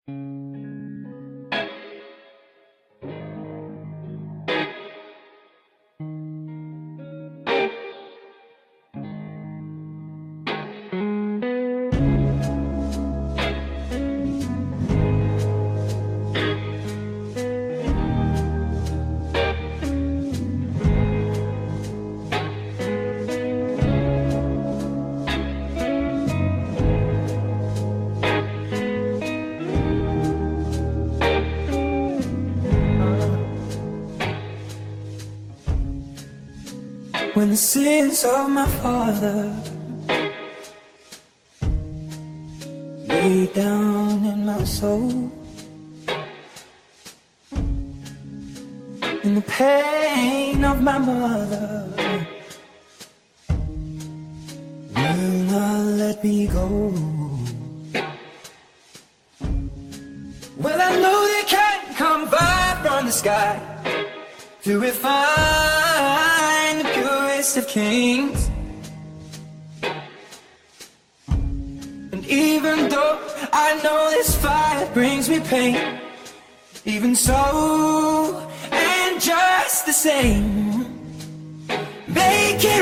When the sins of my father lay down in my soul, and the pain of my mother will not let me go. Well, I know they can't come far from the sky to refine the purest of kings. And even though I know this fire brings me pain, even so, and just the same, make it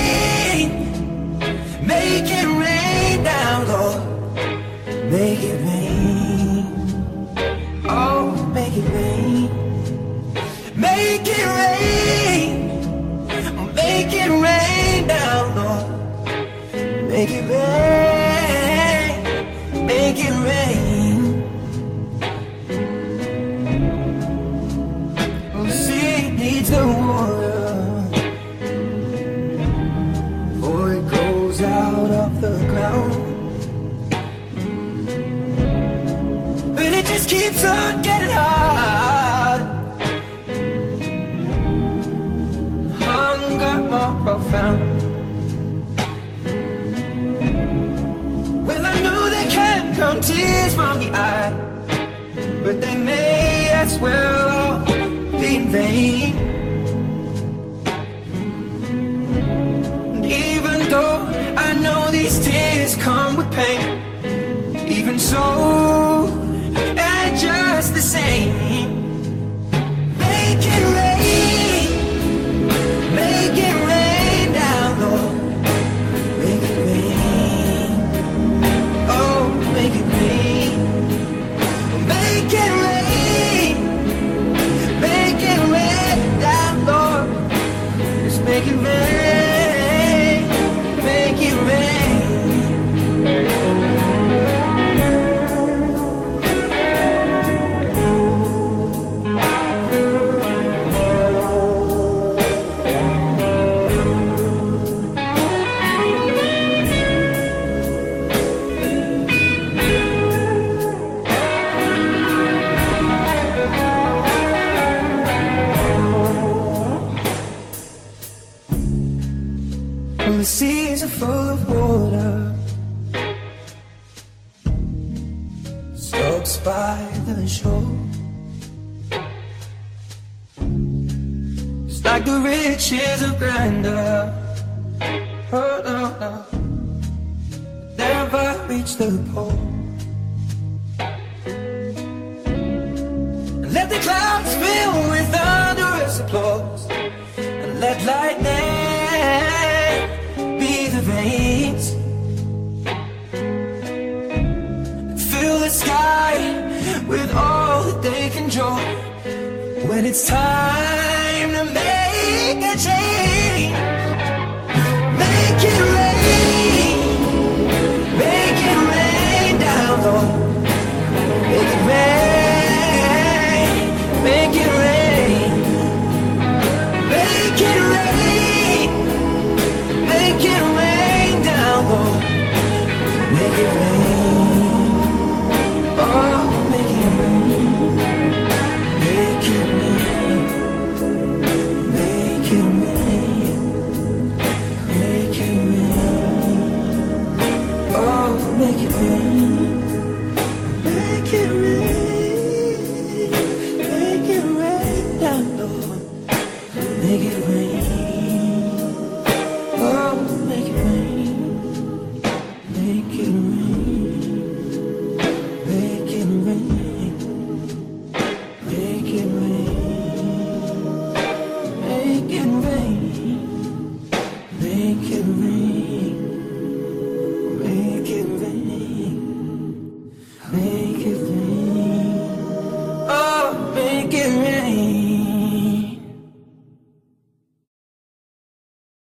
rain down, Lord, make it rain, oh, make it rain. Make it rain down, Lord. Make it rain. Oh, sea needs the water, for it goes out of the ground, but it just keeps on getting hard. More profound. Well, I know they can't come tears from the eye, but they may as well all be in vain. And even though I know these tears come with pain, even so, and just the same, make it rain. Make it rain down, Lord. Make it rain. Oh, make it rain. Make it rain. Make it rain down, Lord. Just make it rain. Make it rain. The seas are full of water, slopes by the shore. It's like the riches of grandeur, oh no, no, never reach the pole. And let the clouds fill with thunderous applause, and let lightning be the veins, fill the sky with all that they can draw when it's time